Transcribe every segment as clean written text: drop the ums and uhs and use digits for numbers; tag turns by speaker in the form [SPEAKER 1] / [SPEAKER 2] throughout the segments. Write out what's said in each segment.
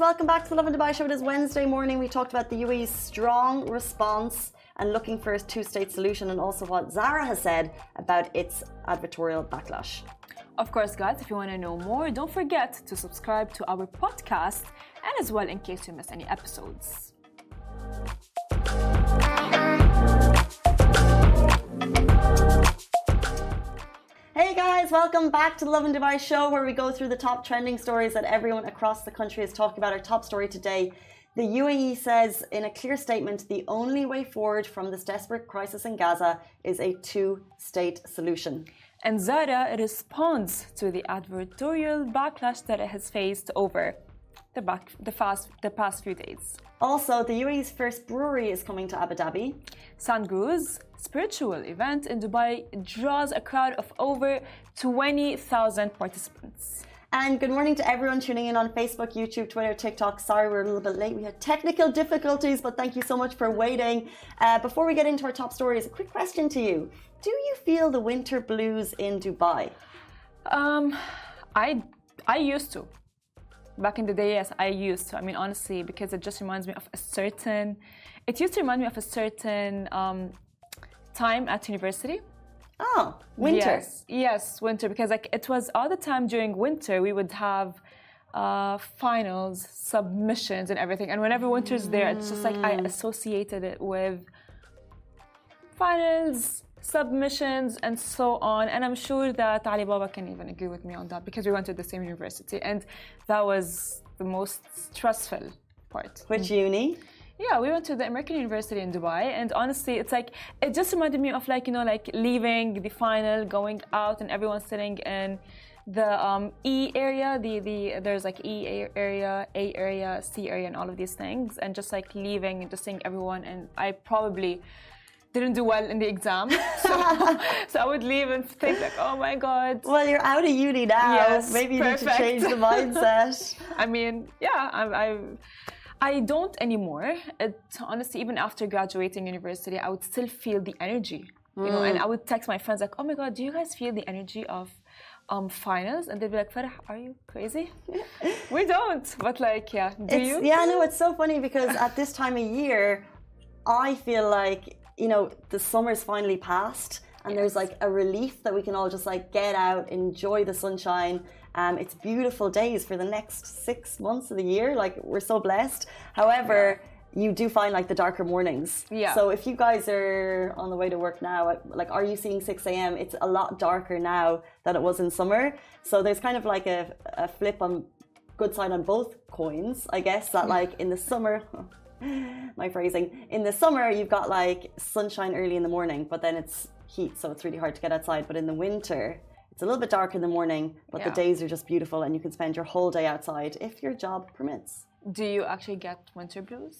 [SPEAKER 1] welcome back to the Love and Dubai show. It is Wednesday morning. We talked about the UAE's strong response and looking for a two-state solution, and also what Zara has said about its advertorial backlash.
[SPEAKER 2] Of course, guys, if you want to know more, don't forget to subscribe to our podcast, and as well in case you miss any episodes.
[SPEAKER 1] Hey guys, welcome back to the Love and Dubai show, where we go through the top trending stories that everyone across the country is talking about. Our top story today: the UAE says in a clear statement the only way forward from this desperate crisis in Gaza is a two-state solution.
[SPEAKER 2] And Zara responds to the advertorial backlash that it has faced over the past few days.
[SPEAKER 1] Also, the UAE's first brewery is coming to Abu Dhabi.
[SPEAKER 2] Sandgu's spiritual event in Dubai draws a crowd of over 20,000 participants.
[SPEAKER 1] And good morning to everyone tuning in on Facebook, YouTube, Twitter, TikTok. Sorry we're a little bit late. We had technical difficulties, but thank you so much for waiting. Before we get into our top stories, a quick question to you. Do you feel the winter blues in Dubai?
[SPEAKER 2] I used to. Back in the day, yes, I used to. I mean, honestly, because it just reminds me of a certain... It used to remind me of a certain time at university.
[SPEAKER 1] Oh, winter.
[SPEAKER 2] Yes, winter. Because like it was all the time during winter, we would have finals, submissions and everything. And whenever winter's there, it's just like I associated it with finals, submissions and so on. And I'm sure that Ali Baba can even agree with me on that, because we went to the same university and that was the most stressful part.
[SPEAKER 1] Which uni?
[SPEAKER 2] Yeah, we went to the American University in Dubai, and honestly, it's like it just reminded me of like, you know, like leaving the final, going out, and everyone sitting in the E area. There's like E area, A area, C area, and all of these things, and just like leaving and just seeing everyone. And I probably didn't do well in the exam, so I would leave and think like, oh my god.
[SPEAKER 1] Well, you're out of uni now.
[SPEAKER 2] Yes,
[SPEAKER 1] maybe you
[SPEAKER 2] perfect.
[SPEAKER 1] need to change the mindset.
[SPEAKER 2] I mean, yeah, I don't anymore. Honestly, even after graduating university, I would still feel the energy, you know. And I would text my friends like, "Oh my God, do you guys feel the energy of finals?" And they'd be like, "Farah, are you crazy?" We don't. But like, yeah, do you?
[SPEAKER 1] Yeah, no, it's so funny because at this time of year, I feel like, you know, the summer's finally passed. And there's like a relief that we can all just like get out, enjoy the sunshine. It's beautiful days for the next 6 months of the year. Like, we're so blessed. However, you do find like the darker mornings.
[SPEAKER 2] Yeah.
[SPEAKER 1] So if you guys are on the way to work now, like, are you seeing 6 a.m.? It's a lot darker now than it was in summer. So there's kind of like a flip on good side on both coins, I guess, that like in the summer... my phrasing. In the summer, you've got like sunshine early in the morning, but then it's heat, so it's really hard to get outside. But in the winter, it's a little bit dark in the morning, but the days are just beautiful and you can spend your whole day outside if your job permits.
[SPEAKER 2] Do you actually get winter blues?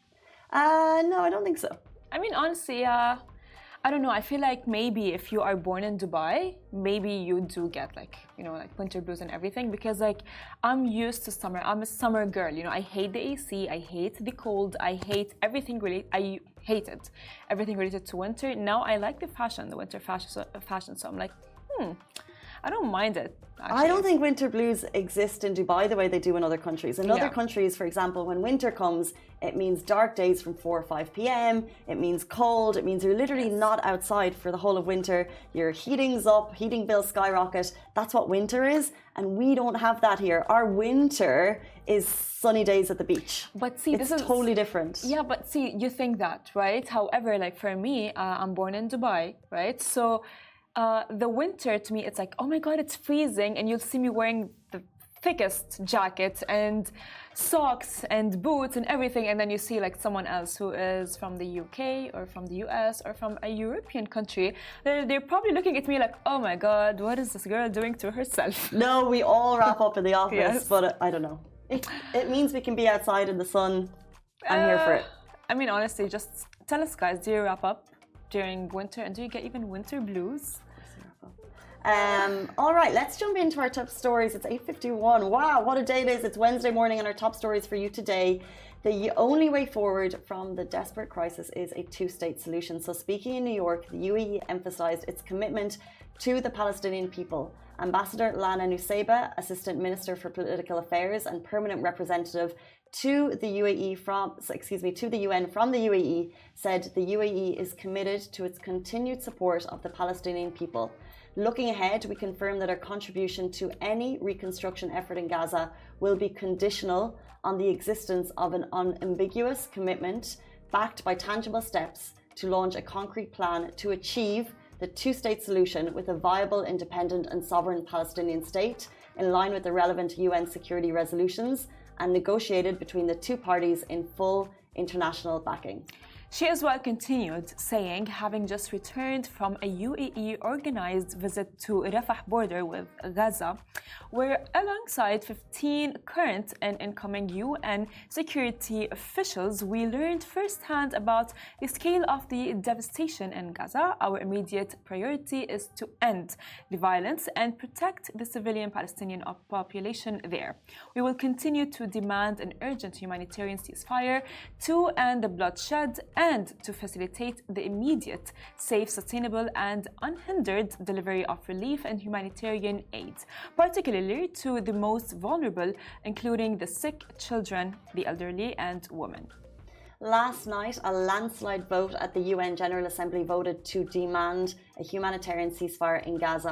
[SPEAKER 1] No, I don't think so.
[SPEAKER 2] I mean, honestly, I don't know. I feel like maybe if you are born in Dubai, maybe you do get like, you know, like winter blues and everything, because like I'm used to summer. I'm a summer girl, you know. I hate the AC. I hate the cold. I hate everything I hated everything related to winter. Now I like the fashion, the winter fashion. So I'm like, I don't mind it. Actually.
[SPEAKER 1] I don't think winter blues exist in Dubai the way they do in other countries. In other countries, for example, when winter comes, it means dark days from 4 or 5 p.m. It means cold. It means you're literally not outside for the whole of winter. Your heating's up, heating bills skyrocket. That's what winter is. And we don't have that here. Our winter is sunny days at the beach.
[SPEAKER 2] But see,
[SPEAKER 1] this is totally different.
[SPEAKER 2] Yeah, but see, you think that, right? However, like for me, I'm born in Dubai, right? So the winter to me, it's like, oh my God, it's freezing, and you'll see me wearing the thickest jacket and socks and boots and everything, and then you see like someone else who is from the UK or from the US or from a European country. They're probably looking at me like, oh my God, what is this girl doing to herself?
[SPEAKER 1] No, we all wrap up in the office,
[SPEAKER 2] Yes.
[SPEAKER 1] but I don't know. It means we can be outside in the sun. I'm here for it.
[SPEAKER 2] I mean, honestly, just tell us, guys, do you wrap up during winter, and do you get even winter blues?
[SPEAKER 1] All right, let's jump into our top stories. It's 8:51. Wow, what a day it is. It's Wednesday morning, and our top stories for you today. The only way forward from the desperate crisis is a two-state solution. So speaking in New York, the UAE emphasized its commitment to the Palestinian people. Ambassador Lana Nusseibeh, Assistant Minister for Political Affairs and Permanent Representative to the UN from the UAE, said the UAE is committed to its continued support of the Palestinian people. Looking ahead, we confirm that our contribution to any reconstruction effort in Gaza will be conditional on the existence of an unambiguous commitment backed by tangible steps to launch a concrete plan to achieve the two-state solution with a viable, independent and sovereign Palestinian state in line with the relevant UN security resolutions and negotiated between the two parties in full international backing.
[SPEAKER 2] She as well continued, saying, having just returned from a UAE-organized visit to Rafah border with Gaza, where alongside 15 current and incoming UN security officials, we learned firsthand about the scale of the devastation in Gaza. Our immediate priority is to end the violence and protect the civilian Palestinian population there. We will continue to demand an urgent humanitarian ceasefire to end the bloodshed and to facilitate the immediate, safe, sustainable and unhindered delivery of relief and humanitarian aid, particularly to the most vulnerable, including the sick, children, the elderly and women.
[SPEAKER 1] Last night, a landslide vote at the UN General Assembly voted to demand a humanitarian ceasefire in Gaza.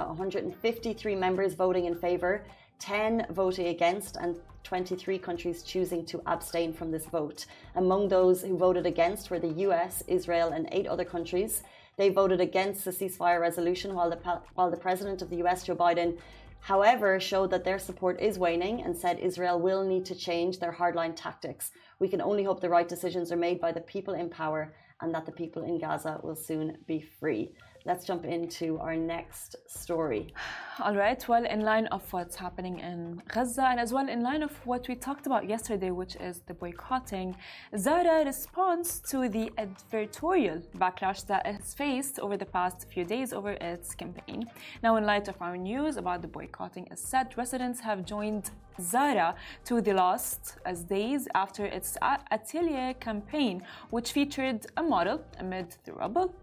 [SPEAKER 1] 153 members voting in favour, 10 voting against and 23 countries choosing to abstain from this vote. Among those who voted against were the US, Israel and 8 other countries. They voted against the ceasefire resolution while the President of the US, Joe Biden, however, showed that their support is waning and said Israel will need to change their hardline tactics. We can only hope the right decisions are made by the people in power and that the people in Gaza will soon be free. Let's jump into our next story.
[SPEAKER 2] All right, well, in line of what's happening in Gaza and as well in line of what we talked about yesterday, which is the boycotting, Zara responds to the advertorial backlash that it's faced over the past few days over its campaign. Now, in light of our news about the boycotting, as said, residents have joined Zara to the last as days after its Atelier campaign, which featured a model amid the rubble,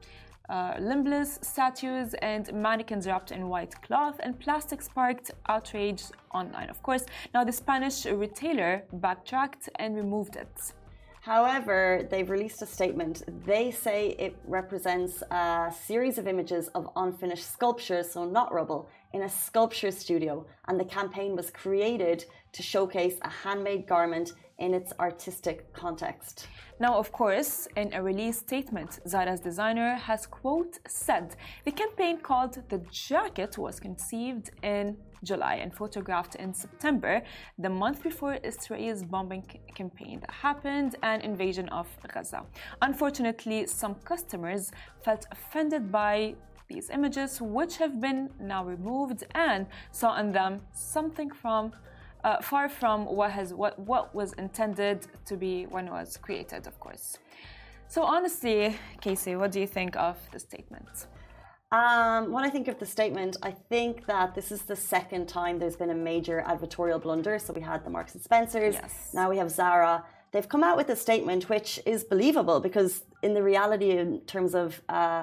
[SPEAKER 2] limbless statues and mannequins wrapped in white cloth, and plastic sparked outrage online, of course. Now, the Spanish retailer backtracked and removed it.
[SPEAKER 1] However, they've released a statement. They say it represents a series of images of unfinished sculptures, so not rubble, in a sculpture studio, and the campaign was created to showcase a handmade garment in its artistic context.
[SPEAKER 2] Now, of course, in a release statement, Zara's designer has, quote, said the campaign called The Jacket was conceived in July and photographed in September, the month before Israel's bombing campaign that happened and invasion of Gaza. Unfortunately, some customers felt offended by these images, which have been now removed, and saw in them something from far from what was intended to be when it was created, of course. So honestly, Casey, what do you think of the statement?
[SPEAKER 1] When I think of the statement, I think that this is the second time there's been a major advertorial blunder. So we had the Marks and Spencers,
[SPEAKER 2] yes.
[SPEAKER 1] Now we have Zara. They've come out with a statement which is believable because in the reality in terms of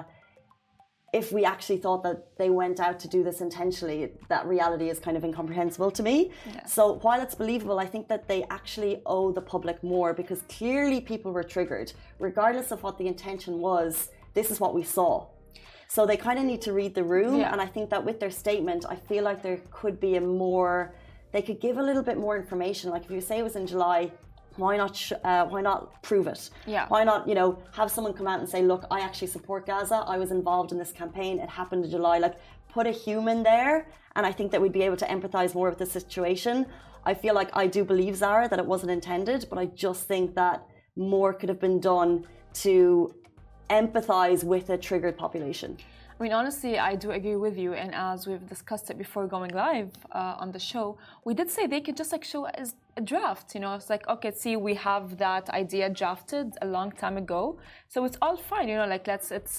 [SPEAKER 1] if we actually thought that they went out to do this intentionally, that reality is kind of incomprehensible to me.
[SPEAKER 2] Yes.
[SPEAKER 1] So while it's believable, I think that they actually owe the public more because clearly people were triggered. Regardless of what the intention was, this is what we saw. So they kind of need to read the room.
[SPEAKER 2] Yeah.
[SPEAKER 1] And I think that with their statement, I feel like there could be they could give a little bit more information. Like if you say it was in July, why not prove it?
[SPEAKER 2] Yeah.
[SPEAKER 1] Why not, have someone come out and say, look, I actually support Gaza. I was involved in this campaign. It happened in July. Like, put a human there. And I think that we'd be able to empathize more with the situation. I feel like I do believe, Zara, that it wasn't intended, but I just think that more could have been done to empathize with a triggered population.
[SPEAKER 2] I mean, honestly, I do agree with you. And as we've discussed it before going live on the show, we did say they could just show as a draft. It's like, okay, see, we have that idea drafted a long time ago. So it's all fine.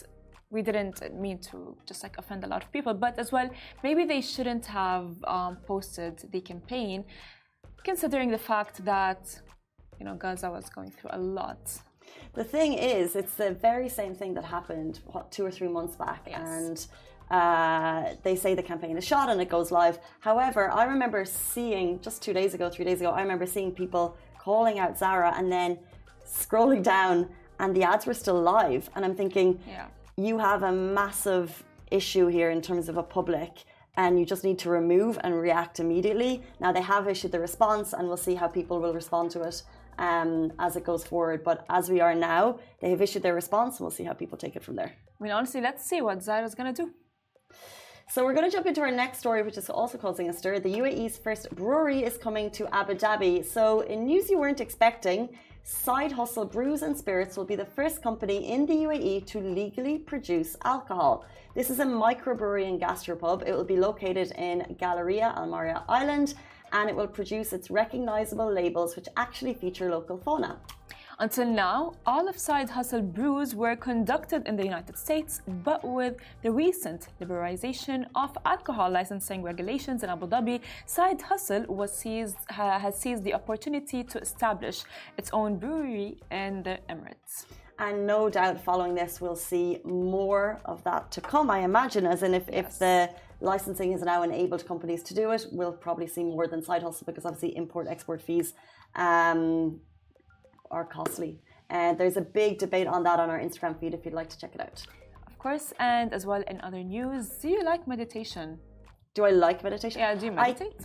[SPEAKER 2] we didn't mean to just like offend a lot of people, but as well, maybe they shouldn't have posted the campaign, considering the fact that, you know, Gaza was going through a lot.
[SPEAKER 1] The thing is, it's the very same thing that happened, 2 or 3 months back.
[SPEAKER 2] Yes.
[SPEAKER 1] And they say the campaign is shot and it goes live. However, I remember seeing, just 2 days ago, 3 days ago, I remember seeing people calling out Zara and then scrolling down and the ads were still live. And I'm thinking, you have a massive issue here in terms of a public and you just need to remove and react immediately. Now, they have issued the response and we'll see how people will respond to it as it goes forward. But as we are now, they have issued their response and we'll see how people take it from there.
[SPEAKER 2] I mean, honestly, let's see what Zara's going to do.
[SPEAKER 1] So we're going to jump into our next story, which is also causing a stir. The UAE's first brewery is coming to Abu Dhabi. So in news you weren't expecting, Side Hustle Brews and Spirits will be the first company in the UAE to legally produce alcohol. This is a microbrewery and gastropub. It will be located in Galleria Al Maria Island, and it will produce its recognizable labels, which actually feature local fauna.
[SPEAKER 2] Until now, all of Side Hustle brews were conducted in the United States, but with the recent liberalization of alcohol licensing regulations in Abu Dhabi, Side Hustle has seized the opportunity to establish its own brewery in the Emirates.
[SPEAKER 1] And no doubt following this, we'll see more of that to come, I imagine, as in if the licensing has now enabled companies to do it, we'll probably see more than Side Hustle, because obviously import-export fees are costly. There's a big debate on that on our Instagram feed if you'd like to check it out.
[SPEAKER 2] Of course, and as well in other news, do you like meditation?
[SPEAKER 1] Do I like meditation?
[SPEAKER 2] Yeah, do you meditate?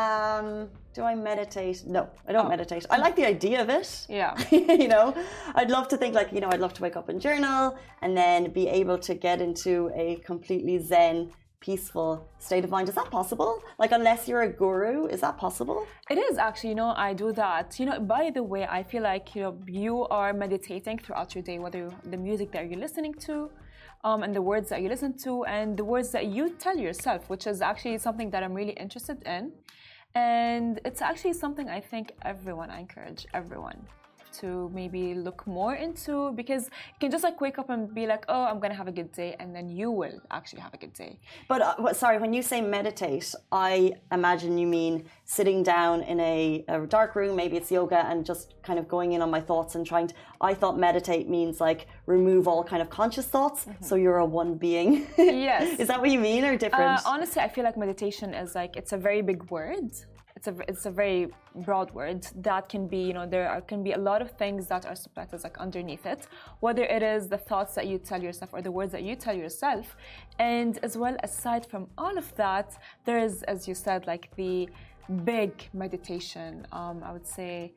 [SPEAKER 1] Do I meditate? No, I don't meditate. I like the idea of it.
[SPEAKER 2] Yeah.
[SPEAKER 1] You know, I'd love to think like, you know, I'd love to wake up and journal and then be able to get into a completely zen, peaceful state of mind. Is that possible? Like, unless you're a guru, is that possible?
[SPEAKER 2] It is actually, you know, I do that. You know, by the way, I feel like, you know, you are meditating throughout your day, whether the music that you're listening to, and the words that you listen to, and the words that you tell yourself, which is actually something that I'm really interested in. And it's actually something I think I encourage everyone to maybe look more into, because you can just like wake up and be like, oh, I'm gonna have a good day, and then you will actually have a good day.
[SPEAKER 1] But sorry, when you say meditate, I imagine you mean sitting down in a dark room, maybe it's yoga, and just kind of going in on my thoughts and trying to, I thought meditate means like remove all kind of conscious thoughts, so you're a one being.
[SPEAKER 2] Yes.
[SPEAKER 1] Is that what you mean, or different?
[SPEAKER 2] Honestly, I feel like meditation is like, it's a very big word. It's a very broad word that can be, you know, can be a lot of things that are subtitles like underneath it, whether it is the thoughts that you tell yourself or the words that you tell yourself. And as well, aside from all of that, there is, as you said, like the big meditation, I would say,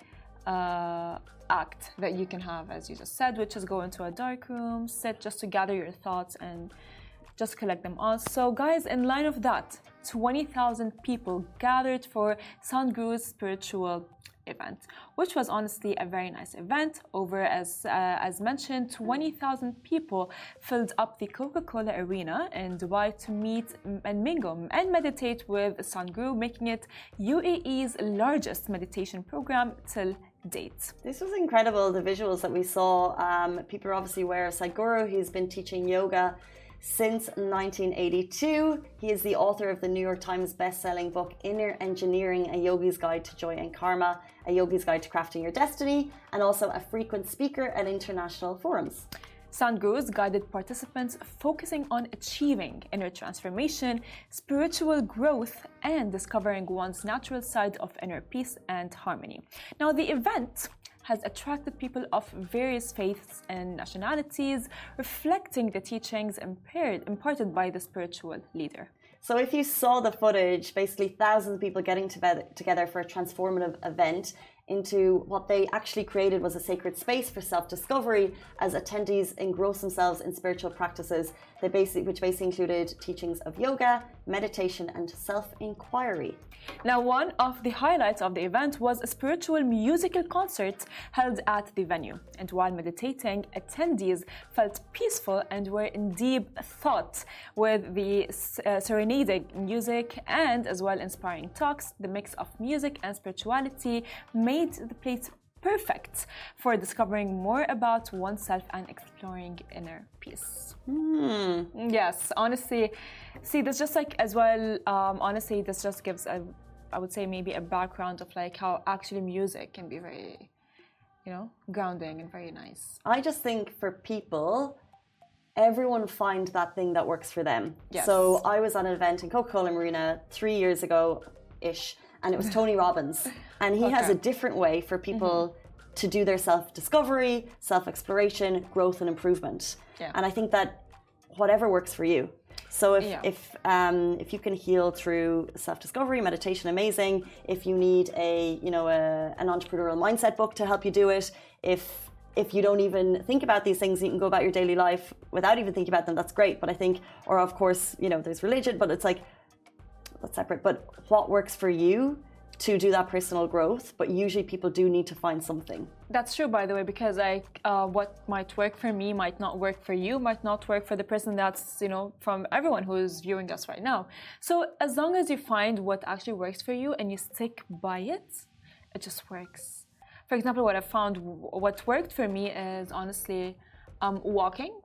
[SPEAKER 2] act that you can have, as you just said, which is go into a dark room, sit just to gather your thoughts and just collect them all. So guys, in line of that, 20,000 people gathered for Sadhguru's spiritual event, which was honestly a very nice event. Over, as mentioned, 20,000 people filled up the Coca-Cola Arena in Dubai to meet and mingle and meditate with Sadhguru, making it UAE's largest meditation program till date.
[SPEAKER 1] This was incredible, the visuals that we saw. People are obviously aware of Sadhguru. He's been teaching yoga since 1982. He is the author of the New York Times best-selling book, Inner Engineering, A Yogi's Guide to Joy and Karma, A Yogi's Guide to Crafting Your Destiny, and also a frequent speaker at international forums.
[SPEAKER 2] Sadhguru's guided participants focusing on achieving inner transformation, spiritual growth, and discovering one's natural side of inner peace and harmony. Now, the event has attracted people of various faiths and nationalities, reflecting the teachings imparted by the spiritual leader.
[SPEAKER 1] So if you saw the footage, basically thousands of people getting together for a transformative event into what they actually created was a sacred space for self-discovery as attendees engross themselves in spiritual practices which basically included teachings of yoga, meditation, and self-inquiry.
[SPEAKER 2] Now, one of the highlights of the event was a spiritual musical concert held at the venue. And while meditating, attendees felt peaceful and were in deep thought with the serenading music and as well inspiring talks. The mix of music and spirituality made the place perfect for discovering more about oneself and exploring inner peace. Yes, honestly, see, this just like as well, honestly, this just gives I would say maybe a background of like how actually music can be very, grounding and very nice.
[SPEAKER 1] I just think for people, everyone find that thing that works for them.
[SPEAKER 2] Yes.
[SPEAKER 1] So I was at an event in Coca-Cola Marina 3 years ago-ish, and it was Tony Robbins. And he has a different way for people to do their self-discovery, self-exploration, growth and improvement.
[SPEAKER 2] Yeah.
[SPEAKER 1] And I think that whatever works for you. So if you can heal through self-discovery, meditation, amazing. If you need an entrepreneurial mindset book to help you do it, if you don't even think about these things, you can go about your daily life without even thinking about them. That's great. But I think, or of course, there's religion, but it's like that's separate. But what works for you to do that personal growth? But usually people do need to find something.
[SPEAKER 2] That's true, by the way, because what might work for me might not work for you, might not work for the person that's, from everyone who is viewing us right now. So as long as you find what actually works for you and you stick by it, it just works. For example, what I found, what worked for me is honestly walking.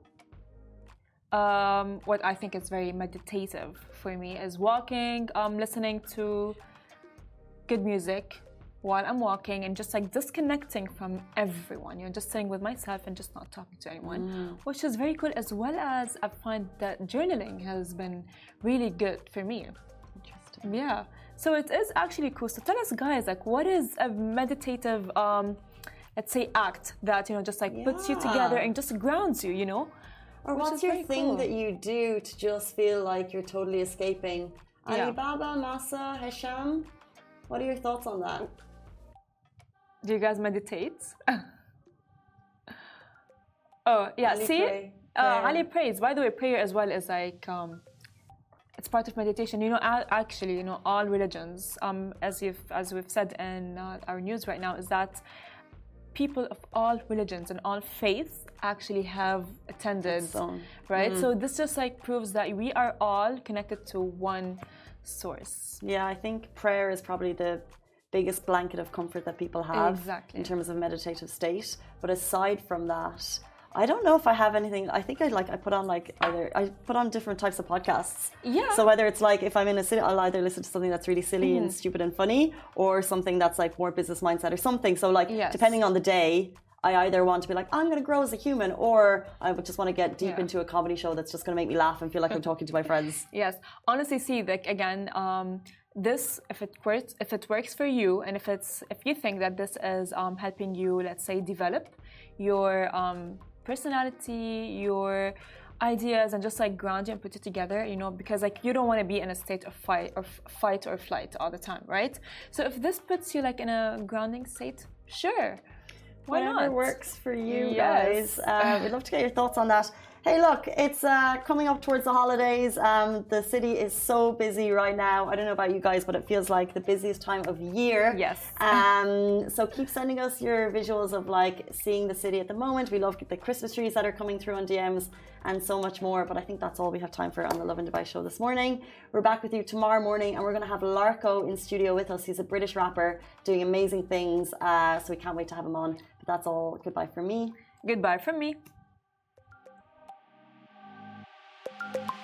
[SPEAKER 2] What I think is very meditative for me is walking, listening to good music while I'm walking and just like disconnecting from everyone, just sitting with myself and just not talking to anyone, which is very cool, as well as I find that journaling has been really good for me.
[SPEAKER 1] Interesting.
[SPEAKER 2] Yeah. So it is actually cool. So tell us, guys, like what is a meditative, let's say, act that, just like puts you together and just grounds you,
[SPEAKER 1] Or what's your thing that you do to just feel like you're totally escaping? Alibaba, Masa, Hesham? What are your thoughts on that?
[SPEAKER 2] Do you guys meditate? Oh, yeah.
[SPEAKER 1] Ali
[SPEAKER 2] see? Ali prays. By the way, prayer as well is like, it's part of meditation. Actually, all religions, as we've said in our news right now, is that people of all religions and all faiths actually have attended, right? So this just like proves that we are all connected to one source.
[SPEAKER 1] Yeah, I think prayer is probably the biggest blanket of comfort that people have in terms of meditative state. But aside from that, I don't know if I have anything. I think I put on different types of podcasts.
[SPEAKER 2] Yeah.
[SPEAKER 1] So whether it's like if I'm in a city, I'll either listen to something that's really silly and stupid and funny, or something that's like more business mindset or something. So like depending on the day, I either want to be like, I'm going to grow as a human, or I would just want to get deep into a comedy show that's just going to make me laugh and feel like I'm talking to my friends.
[SPEAKER 2] Yes. Honestly, see, like again, this, if it works for you, and if you think that this is helping you, let's say, develop your personality, your ideas, and just like ground you and put it together, because like you don't want to be in a state of fight or flight all the time, right? So if this puts you like in a grounding state, sure.
[SPEAKER 1] Whatever works for you guys. We'd love to get your thoughts on that. Hey, look, it's coming up towards the holidays. The city is so busy right now. I don't know about you guys, but it feels like the busiest time of year.
[SPEAKER 2] Yes.
[SPEAKER 1] So keep sending us your visuals of like seeing the city at the moment. We love the Christmas trees that are coming through on DMs and so much more. But I think that's all we have time for on the Lovin Dubai show this morning. We're back with you tomorrow morning, and we're going to have Larko in studio with us. He's a British rapper doing amazing things. So we can't wait to have him on. But that's all. Goodbye from me.
[SPEAKER 2] Goodbye from me.